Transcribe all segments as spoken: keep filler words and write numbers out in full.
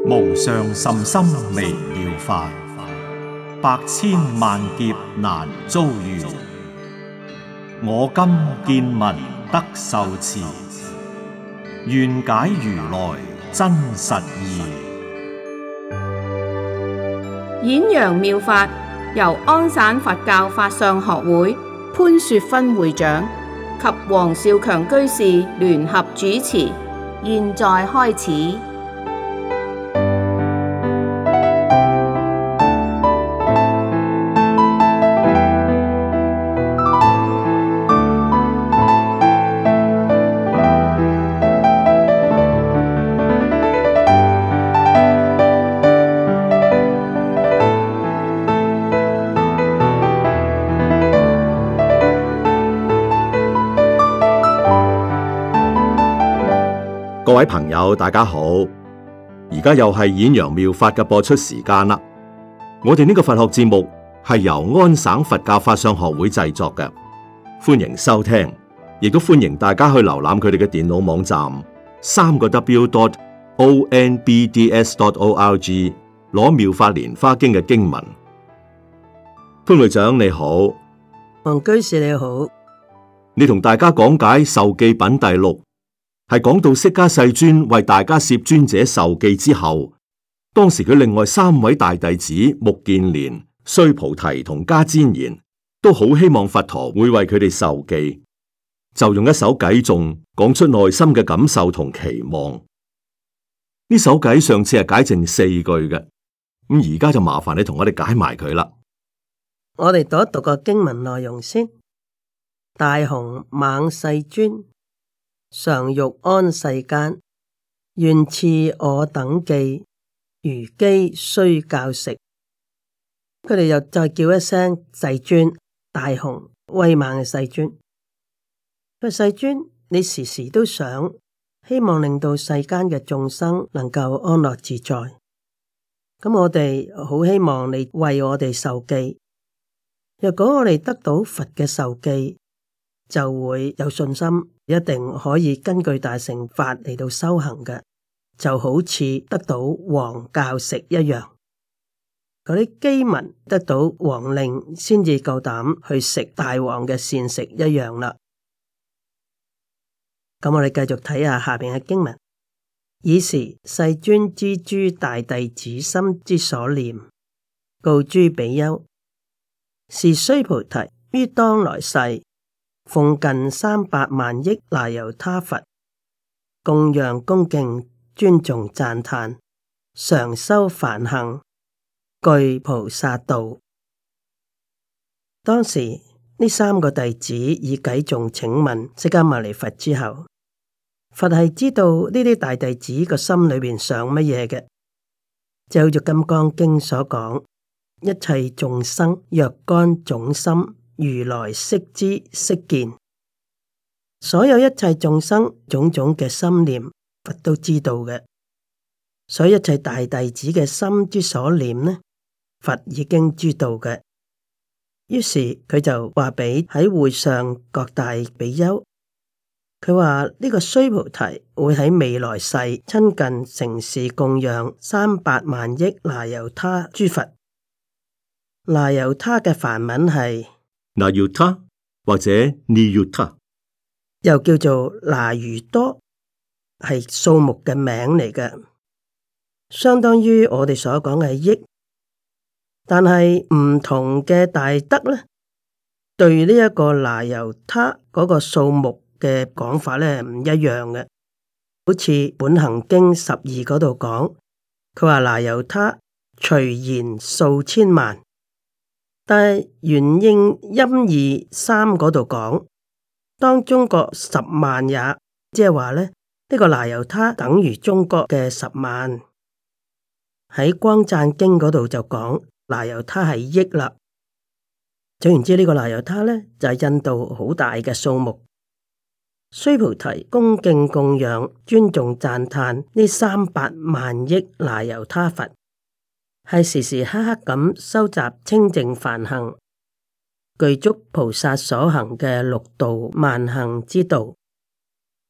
無上甚深微妙法，百千萬劫難遭遇。我今見聞得受持，願解如來真實義。 演揚妙法由安省佛教法相學會潘雪芬會長及黃少強居士聯合主持，現在開始。 各位朋友，大家好！而家又係演揚妙法嘅播出時間啦。我哋呢個佛學節目係由安省佛教法相學會製作嘅，歡迎收聽，亦都歡迎大家去瀏覽佢哋嘅電腦網站三個 W dot O N B D S dot O R G 攞妙法蓮花經嘅經文。潘會長你好， 黃居士你好， 你同大家講解受記品第六。係講到釋迦世尊為大迦葉尊者受記之後，當時佢另外三位大弟子目犍連、須菩提同迦旃延都好希望佛陀會為佢哋受記，就用一首偈頌講出內心嘅感受同期望。呢首偈上次係解剩四句嘅，咁而家就麻煩你同我哋解埋佢啦。 我哋讀一讀個經文內容先。大雄猛世尊，常欲安世間，願賜我等記，如飢須教食。佢哋又再叫一聲世尊，大雄威猛嘅世尊。佢世尊，你時時都想希望令到世間嘅眾生能夠安樂自在。咁我哋好希望你為我哋受記。若果我哋得到佛嘅受記，就會有信心，一定可以根據大乘法嚟到修行嘅，就好似得到王教食一樣。嗰啲饑民得到王令，先至夠膽去食大王嘅膳食一樣啦。咁我哋繼續睇下下邊嘅經文。爾時世尊知諸大弟子心之所念，告諸比丘：是須菩提於當來世，奉近三百萬億那由他佛，供養恭敬尊重讚歎，常修梵行，具菩薩道。當時呢三個弟子以偈頌請問釋迦牟尼佛之後，佛係知道呢啲大弟子個心裏邊想乜嘢嘅，就好似《金剛經》所講：一切眾生若干種心，如來悉知悉見。所有一切眾生種種嘅心念，佛都知道嘅。所以一切大弟子嘅心之所念呢，佛已經知道嘅。於是佢就話俾喺會上各大比丘，佢話呢個須菩提會喺未來世親近承事供養三百萬億那由他諸佛。那由他嘅梵文係那由他或者尼由他， 又叫做那由多，係數目嘅名嚟嘅，相當於我哋所講嘅億。但係唔同嘅大德咧，對呢一個那由他嗰個數目嘅講法咧唔一樣嘅。好似本行經十二嗰度講，佢話那由他隨言數千萬。但係元應音義三嗰度講，當中國十萬也，即係話咧呢、這個那由他等於中國嘅十萬。喺光贊經嗰度就講那由他係億啦。總言之，呢個那由他咧就係、是、印度好大嘅數目。須菩提恭敬供養、尊重讚歎呢三百萬億那由他佛。係時時刻刻咁收集清淨梵行，具足菩薩所行嘅六度萬行之道。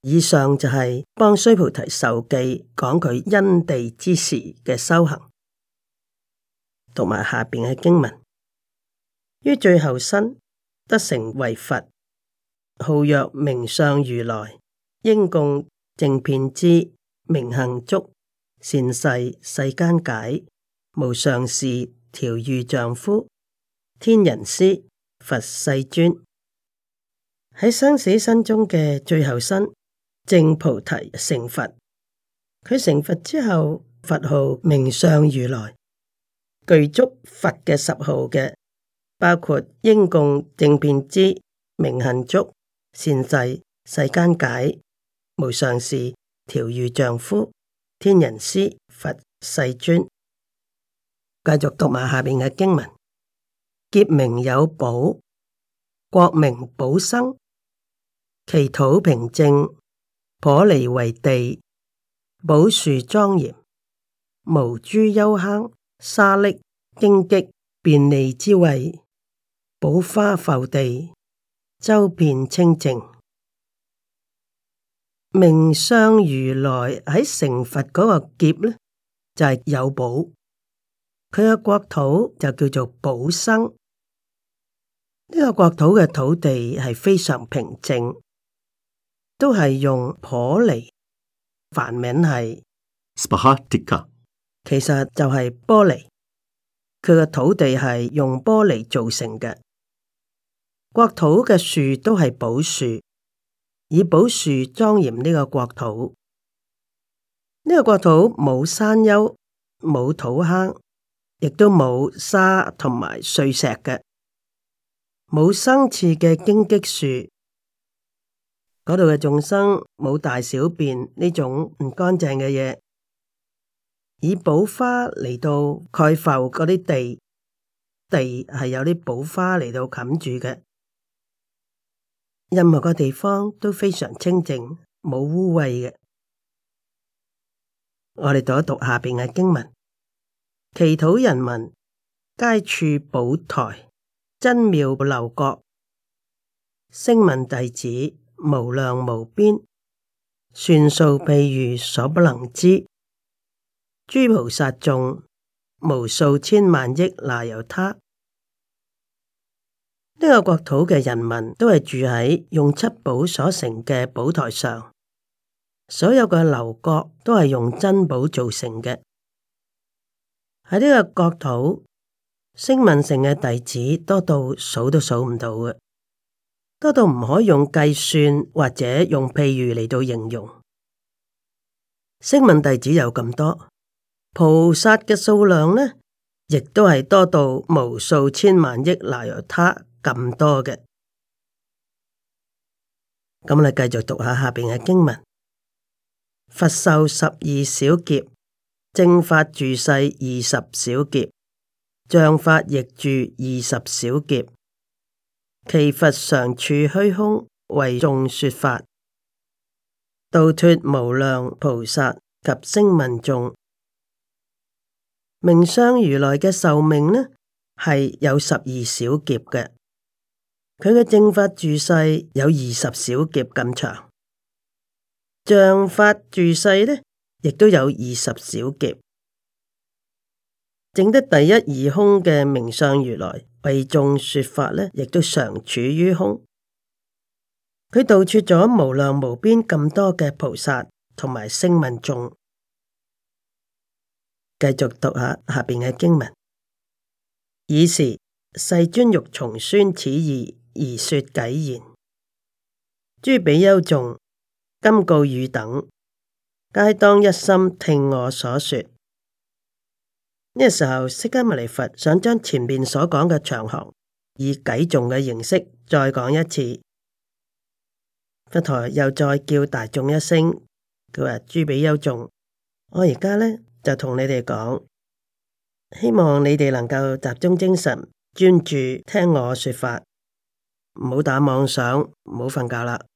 以上就係幫須菩提授記講佢因地之時嘅修行，讀埋下邊嘅經文。於最後身得成為佛，號曰名相如來，應供正遍知，明行足，善逝世間解，無上士調御丈夫，天人師佛世尊。喺生死身中嘅最後身證菩提成佛，佢成佛之後，佛號名相如來，具足佛嘅十號嘅，包括應供正遍知、明行足、善逝世間解、無上士調御丈夫、天人師佛世尊。繼續讀埋下邊嘅經文：劫名有寶，國名寶生，其土平正，婆離為地，寶樹莊嚴，無諸幽坑、沙礫、荊棘、便利之位，寶花覆地，周遍清淨。名相如來喺成佛嗰個劫呢，就係、是、有寶，佢嘅國土就叫做寶生。呢、這個國土嘅土地係非常平靜，都係用婆離，梵名係 Spahatika， 其實就係玻璃。佢嘅土地係用玻璃造成嘅，國土嘅樹都係寶樹，以寶樹莊嚴呢個國土。呢、這個國土冇山丘，冇土坑，亦都冇沙同埋碎石嘅，冇生刺嘅荊棘樹。嗰度嘅眾生冇大小便呢種唔乾淨嘅嘢。以寶花嚟到蓋覆嗰啲地，地係有啲寶花嚟到冚住嘅。任何個地方都非常清淨，冇污穢嘅。我哋讀一讀下邊嘅經文：其土人民皆處寶台，珍妙樓閣，聲聞弟子無量無邊，算數譬喻所不能知。諸菩薩眾無數千萬億那由他。呢、這個國土嘅人民都係住喺用七寶所成嘅寶台上，所有嘅樓閣都係用珍寶造成嘅。喺呢個國土，聲聞乘嘅弟子多到數都數唔到嘅，多到唔可以用計算或者用譬喻嚟到形容。聲聞弟子有咁多。菩薩嘅數量呢，亦都係多到無數千萬億那由他咁多嘅。咁我哋繼續讀下下邊嘅經文：佛壽十二小劫，正法住世二十小劫，像法亦住二十小劫。其佛常處虛空，為眾說法，度脫無量菩薩及聲聞眾。名相如來嘅壽命呢，係有十二小劫嘅，佢嘅正法住世有二十小劫咁長，像法住世呢，亦都有二十小劫。證得第一義空嘅名相如來為眾說法呢，亦都常處於空。佢度脫咗無量無邊咁多嘅菩薩同埋聲聞眾。繼續讀下下邊嘅經文。爾時世尊欲重宣此義而說偈言：諸比丘眾，今告汝等，皆當一心聽我所說。呢、這個時候，釋迦牟尼佛想將前面所講嘅長行以偈頌嘅形式再講一次。佛陀又再叫大眾一聲，佢話：諸比丘眾，我而家呢，就同你哋講，希望你哋能夠集中精神，專注聽我說法，唔好打妄想，唔好瞓覺啦。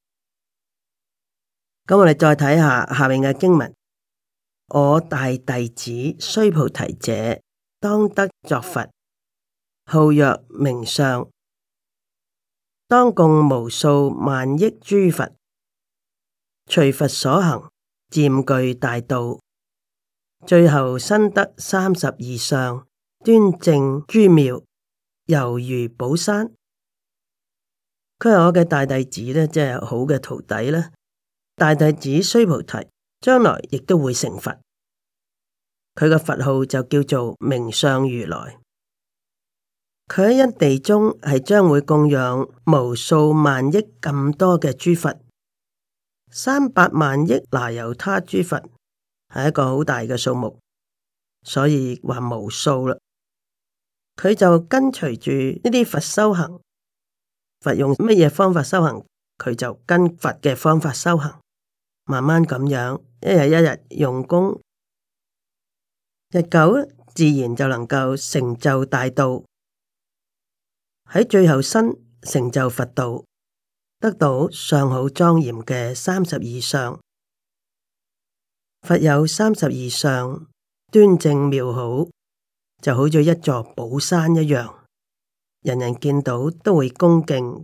咁我哋再睇下下面嘅經文：我大弟子須菩提者，當得作佛，號曰名相，當供無數萬億諸佛， 隨佛所行，漸具大道，最後身得三十二相，端正諸妙，猶如寶山。佢係我嘅大弟子咧，即係好嘅徒弟啦。大弟子須菩提將來亦都會成佛，佢嘅佛號就叫做名相如來。佢喺一地中係將會供養無數萬億咁多嘅諸佛，三百萬億那由他諸佛，係一個好大嘅數目，所以話無數啦。佢就跟隨住呢啲佛修行，佛用乜嘢方法修行，佢就跟佛嘅方法修行，慢慢咁樣一日一日用功，日久自然就能夠成就大道。喺最後身成就佛道，得到相好莊嚴嘅三十二相。佛有三十二相，端正妙好，就好似一座寶山一樣，人人見到都會恭敬。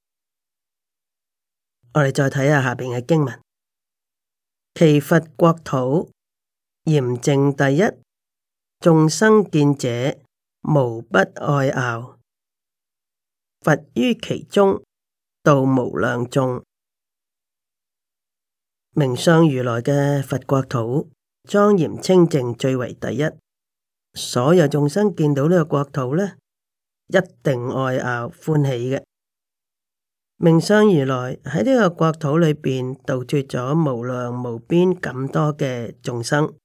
我哋再睇下下邊嘅經文：其佛國土嚴淨第一，眾生見者無不愛樂。佛於其中，度無量眾。名相如來嘅佛國土莊嚴清淨，最為第一。所有眾生見到呢個國土呢，一定愛樂歡喜嘅。名相如來喺呢個國土裏邊度脫咗無量無邊咁多嘅眾生。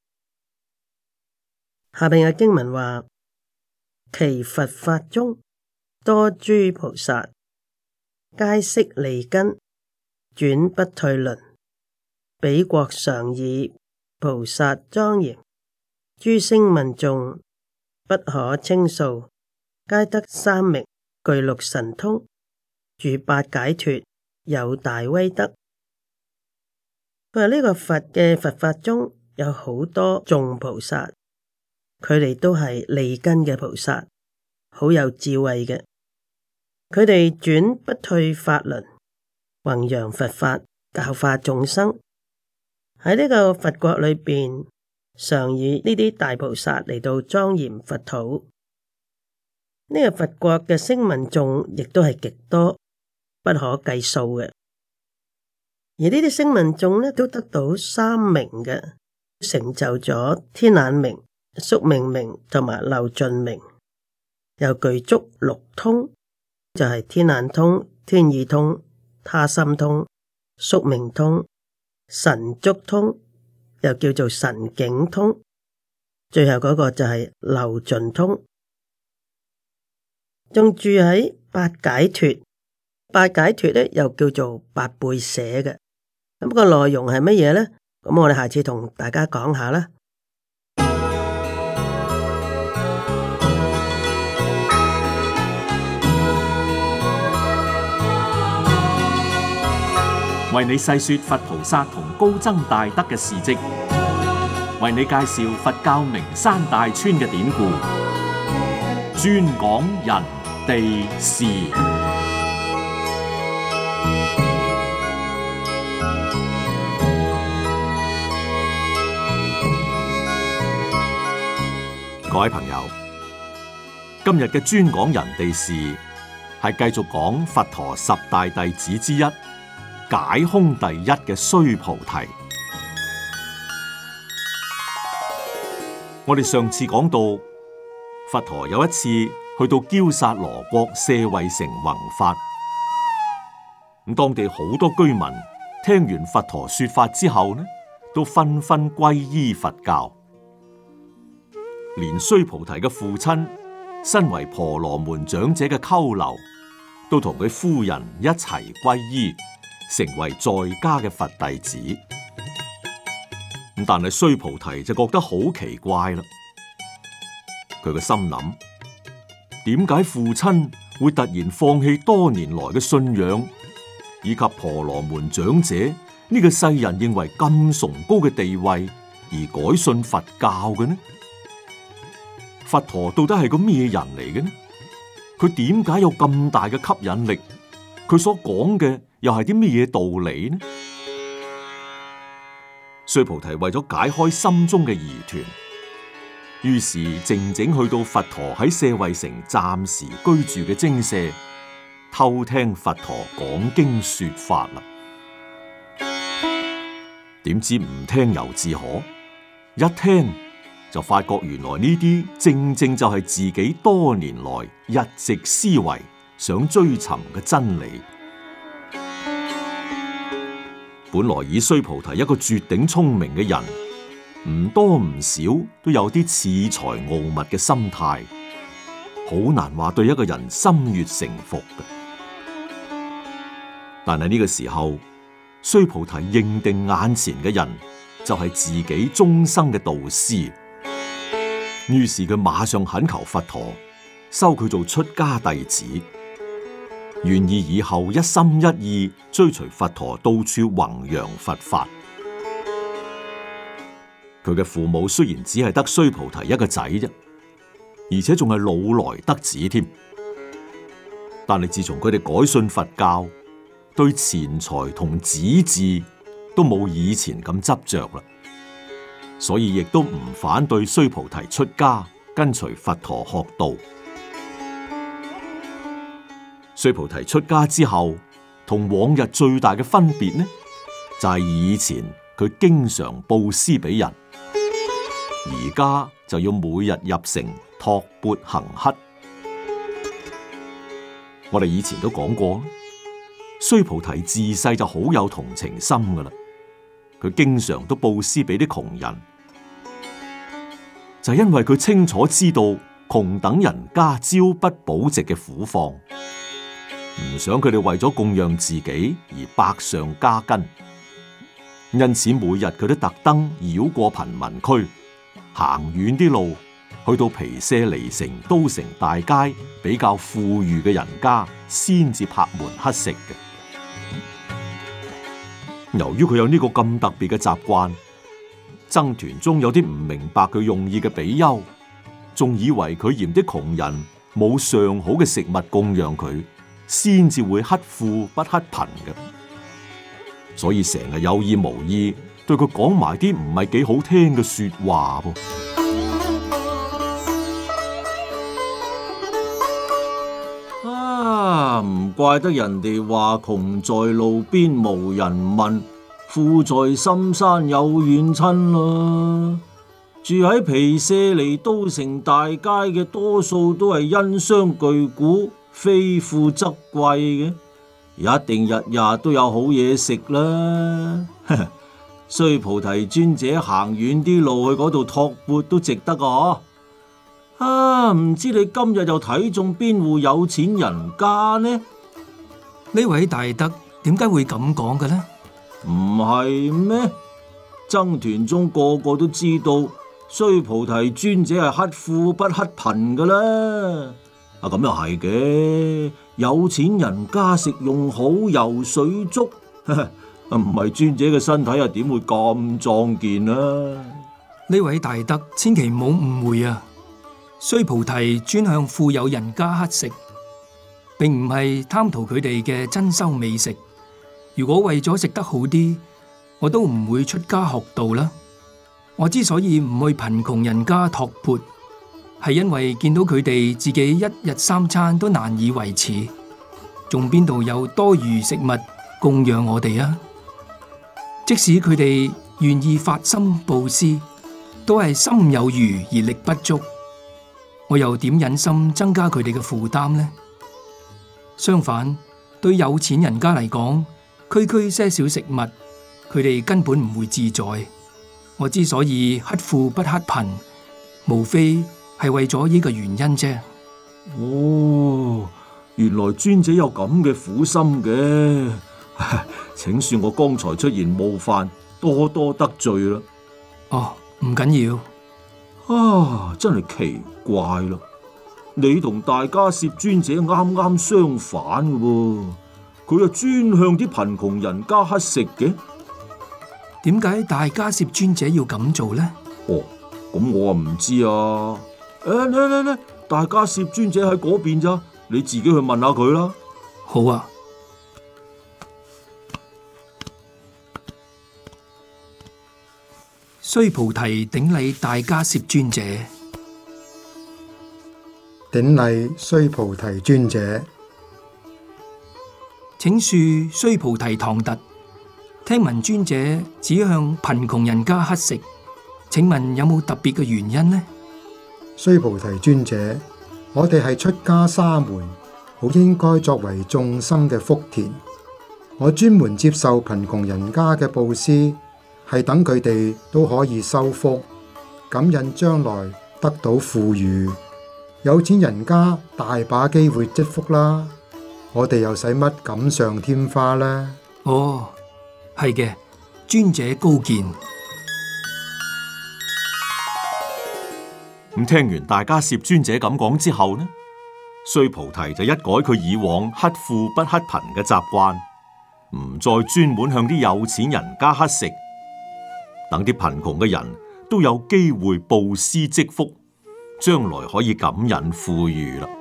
下邊嘅經文話：其佛法中，多諸菩薩，皆悉利根，轉不退輪。彼國常以菩薩莊嚴，諸聲聞眾不可稱數，皆得三明，具六神通，住八解脫，有大威德。佢話呢個佛嘅佛法中有好多眾菩薩，佢哋都係利根嘅菩薩，好有智慧嘅。佢哋轉不退法輪，弘揚佛法，教化眾生。喺呢個佛國裏邊，常以呢啲大菩薩嚟到莊嚴佛土。呢、這個佛國嘅聲聞眾亦都係極多，不可計數嘅。而呢啲聲聞眾呢，都得到三明嘅，成就咗天眼明、宿命明同埋漏盡明，又具足六通。就係天眼通、天意通、他心通、宿命通、神足通，又叫做神境通。最後嗰個就係漏盡通，仲住喺八解脫。八解脫咧又叫做八倍捨嘅。咁個內容係乜嘢咧？咁我哋下次同大家講下啦。 為你細說佛菩薩同高僧大德嘅事跡，為你介紹佛教名山大川嘅典故，專講人地事。各位朋友，今日嘅專講人地事係繼續講佛陀十大弟子之一，解空第一嘅須菩提。我哋上次講到，佛陀有一次去到憍薩羅國舍衛城弘法，咁當地好多居民聽完佛陀說法之後呢，都紛紛皈依佛教，連須菩提嘅父親，身為婆羅門長者嘅鳩留，都同佢夫人一齊皈依，成為在家嘅佛弟子。咁但係須菩提就覺得好奇怪啦。佢個心諗，點解父親會突然放棄多年來嘅信仰，以及婆羅門長者呢個世人認為咁崇高嘅地位，而改信佛教嘅呢？佛陀到底係個咩人嚟嘅呢？佢點解有咁大嘅吸引力？佢所講嘅又係啲咩嘢道理呢？ 須菩提為咗解開心中嘅疑團，於是靜靜去到佛陀喺舍衛城暫時居住嘅精舍，偷聽佛陀講經說法啦。點知唔聽猶自可，一聽就發覺原來呢啲正正就係自己多年來一直思維想追尋嘅真理。本來以須菩提一個絕頂聰明嘅人，唔多唔少都有啲恃才傲物嘅心態，好難話對一個人心悅誠服嘅。但係呢個時候，須菩提認定眼前嘅人就係自己終生嘅導師，於是佢馬上懇求佛陀收佢做出家弟子，願意以後一心一意追隨佛陀到處弘揚佛法。佢嘅父母雖然只係得須菩提一個仔啫，而且仲係老來得子添，但係自從佢哋改信佛教，對錢財同子嗣都冇以前咁執着啦，所以亦都唔反對須菩提出家跟隨佛陀學道。須菩提出家之後，同往日最大嘅分別呢，就係以前佢經常布施俾人，而家就要每日入城托缽行乞。我哋以前都講過，須菩提自細就好有同情心噶啦，佢經常都布施俾啲窮人，就係因為佢清楚知道窮等人家朝不保夕嘅苦況，唔想佢哋為咗供養自己而百上加斤，因此每日佢都特登繞過貧民區，行遠啲路，去到毗舍離城、都城大街比較富裕嘅人家，先至拍門乞食嘅。由於佢有呢個咁特別嘅習慣，僧團中有啲唔明白佢用意嘅比丘，仲以為佢嫌啲窮人冇上好嘅食物供養佢，先至會乞富不乞貧嘅，所以成日有意無意對佢講埋啲唔係幾好聽嘅說話噃。啊，唔怪得人哋話窮在路邊無人問，富在深山有遠親啦。住喺毗舍離都城大街嘅多數都係因商巨賈，非富則貴嘅，一定日日都有好嘢食啦。須菩提尊者行遠啲路去嗰度托缽都值得啊！啊，唔知你今日又睇中邊戶有錢人家呢？ 呢位大德點解會咁講嘅呢？ 唔係咩？僧團中個個都知道須菩提尊者係乞富不乞貧噶啦。啊，咁又係嘅，有錢人家食用好油水足，唔係尊者嘅身體又點會咁壯健啊？ 呢位大德千祈唔好誤會啊！須菩提專向富有人家乞食，並唔係貪圖佢哋嘅珍饈美食。如果為咗食得好啲，我都唔會出家學道啦。我之所以唔去貧窮人家托缽，係因為見到佢哋自己一日三餐都難以維持，仲邊度有多餘食物供養我哋啊？即使佢哋願意發心布施，都係心有餘而力不足。我又點忍心增加佢哋嘅負擔呢？相反，對有錢人家嚟講，區區些少食物，佢哋根本唔會自在。我之所以乞富不乞貧，無非係為咗呢個原因啫。 哦，原來尊者有咁嘅苦心嘅，請恕我剛才出言冒犯，多多得罪啦。 哦，唔緊要。 啊，真係奇怪咯！你同大迦葉尊者啱啱相反嘅喎，佢又專向啲貧窮人家乞食嘅。 點解大迦葉尊者要咁做呢？ 哦，咁我啊唔知啊。誒，嚟嚟嚟，大迦葉尊者喺嗰邊咋，你自己去問下佢啦。 好啊。 須菩提頂禮大迦葉尊者。 頂禮須菩提尊者。 請恕須菩提唐突，聽聞尊者只向貧窮人家乞食，請問有冇特別嘅原因呢？ 須菩提尊者，我哋係出家沙門，好應該作為眾生嘅福田。我專門接受貧窮人家嘅布施，係等佢哋都可以修福，感應將來得到富裕。有錢人家大把機會積福啦，我哋又使乜錦上添花呢？ 哦，係嘅，尊者高見。 咁聽完大迦葉尊者咁講之後呢，須菩提就一改佢以往乞富不乞貧嘅習慣，唔再專門向啲有錢人家乞食，等啲貧窮嘅人都有機會布施積福，將來可以感引富裕啦。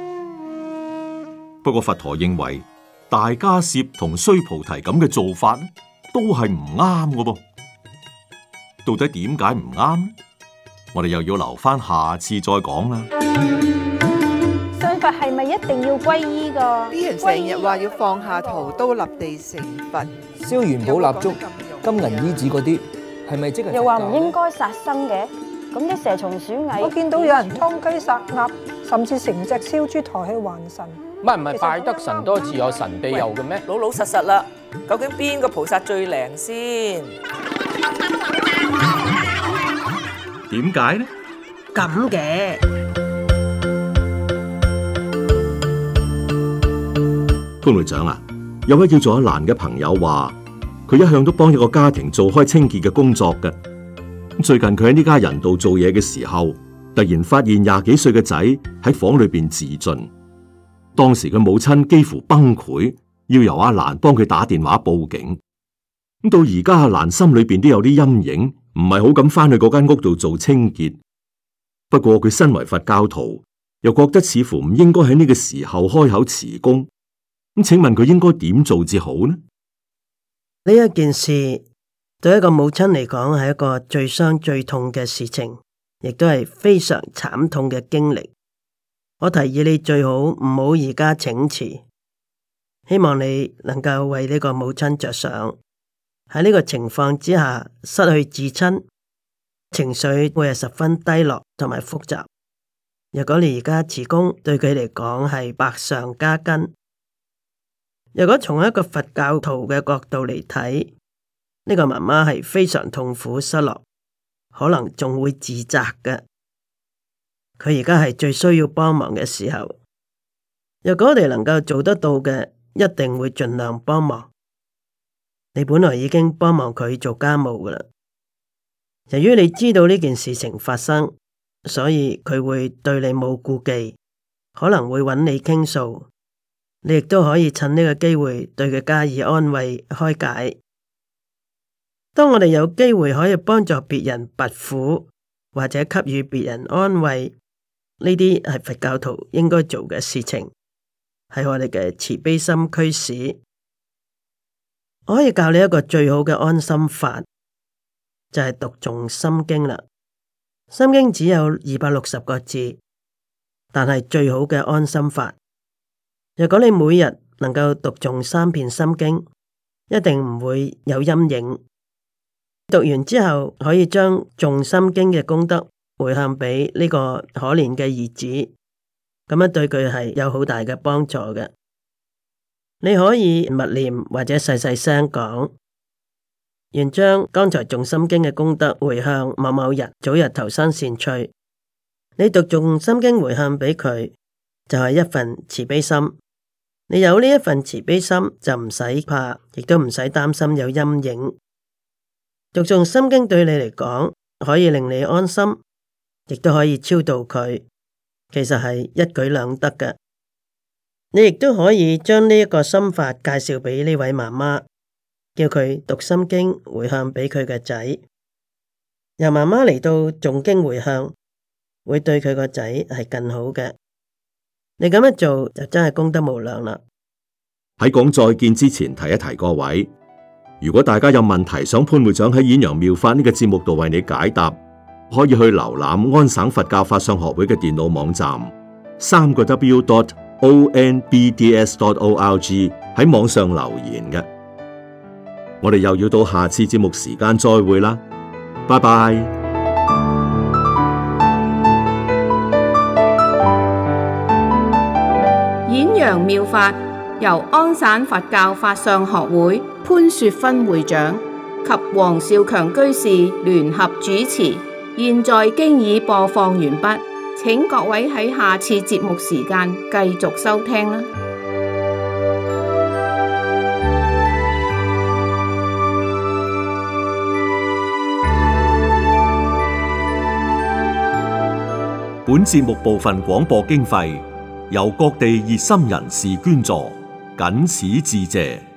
不過佛陀認為大迦葉同須菩提咁嘅做法呢，都係唔啱嘅噃。到底點解唔啱呢？我哋又要留翻下，下次再講啦。 信佛係咪一定要皈依噶？ 啲人成日話要放下屠刀立地成佛， 燒元寶蠟燭、金銀衣紙嗰啲，係咪即係？ 又話唔應該殺生嘅，咁啲蛇蟲鼠蟻， 我見到有人劏雞殺鴨，甚至成隻燒豬抬去還神。 唔係唔係，拜得神多自有神庇佑嘅咩？ 老老實實啦，究竟邊個菩薩最靈先？ 點解呢？ 咁嘅潘會長啊，有位叫做阿蘭嘅朋友話，佢一向都幫一個家庭做開清潔嘅工作嘅。最近佢喺呢家人度做嘢嘅時候，突然發現廿幾歲嘅仔喺房裏邊自盡。當時佢母親幾乎崩潰，要由阿蘭幫佢打電話報警。咁到而家阿蘭心裏邊都有啲陰影，唔係好敢翻去嗰間屋度做清潔。不過佢身為佛教徒，又覺得似乎唔應該喺呢個時候開口辭工。咁請問佢應該點做至好呢？ 呢一件事對一個母親嚟講係一個最傷最痛嘅事情，亦都係非常慘痛嘅經歷。我提議你最好唔好而家請辭，希望你能夠為呢個母親着想。喺呢個情況之下，失去至親，情緒會係十分低落同埋複雜。如果你而家辭工，對佢嚟講係百上加斤。如果從一個佛教徒嘅角度嚟睇，呢個媽媽係非常痛苦失落，可能仲會自責嘅。佢而家係最需要幫忙嘅時候，如果我哋能夠做得到嘅，一定會盡量幫忙。你本來已經幫忙佢做家務㗎喇，由於你知道呢件事情發生，所以佢會對你冇顧忌，可能會揾你傾訴。你亦都可以趁呢個機會對佢加以安慰開解。當我哋有機會可以幫助別人拔苦，或者給予別人安慰，呢啲係佛教徒應該做嘅事情，係我哋嘅慈悲心驅使。我可以教你一個最好嘅安心法，就係讀誦心經啦。心經只有二百六十個字，但係最好嘅安心法。如果你每日能夠讀誦三遍心經，一定唔會有陰影。讀完之後，可以將誦心經嘅功德回向俾呢個可憐嘅兒子，咁樣對佢係有好大嘅幫助嘅。你可以默念或者細細聲講，願將剛才誦心經嘅功德回向某某人，早日投生善趣。你讀誦心經回向俾佢，就係一份慈悲心。你有呢一份慈悲心，就唔使怕，亦都唔使擔心有陰影。讀誦心經對你嚟講，可以令你安心，亦都可以超度佢，其實係一舉兩得嘅。你亦都可以將呢一個心法介紹俾呢位媽媽，叫佢讀心經回向俾佢嘅仔。由媽媽嚟到誦經回向，會對佢個仔係更好嘅。你咁樣做就真係功德無量啦。 喺講再見之前，提一提各位， 如果大家有問題想潘會長喺《演揚妙法》呢個節目度為你解答，可以去瀏覽安省佛教法相學會嘅電腦網站，三個 W dot O N B D S dot O R G 喺網上留言嘅。我哋又要到下次節目時間再會啦，拜拜。 演揚妙法由安省佛教法相學會潘雪芬會長及黃少強居士聯合主持，現在經已播放完畢，請各位喺下次節目時間繼續收聽啦。 本節目部分廣播經費由各地熱心人士捐助，謹此致謝。